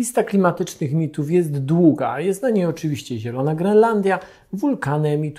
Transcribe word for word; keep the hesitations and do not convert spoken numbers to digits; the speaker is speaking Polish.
Lista klimatycznych mitów jest długa. Jest na niej oczywiście Zielona Grenlandia, wulkany emitujące